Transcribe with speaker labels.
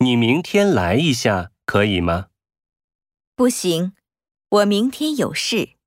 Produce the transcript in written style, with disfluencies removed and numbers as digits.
Speaker 1: 你明天来一下，可以吗？
Speaker 2: 不行，我明天有事。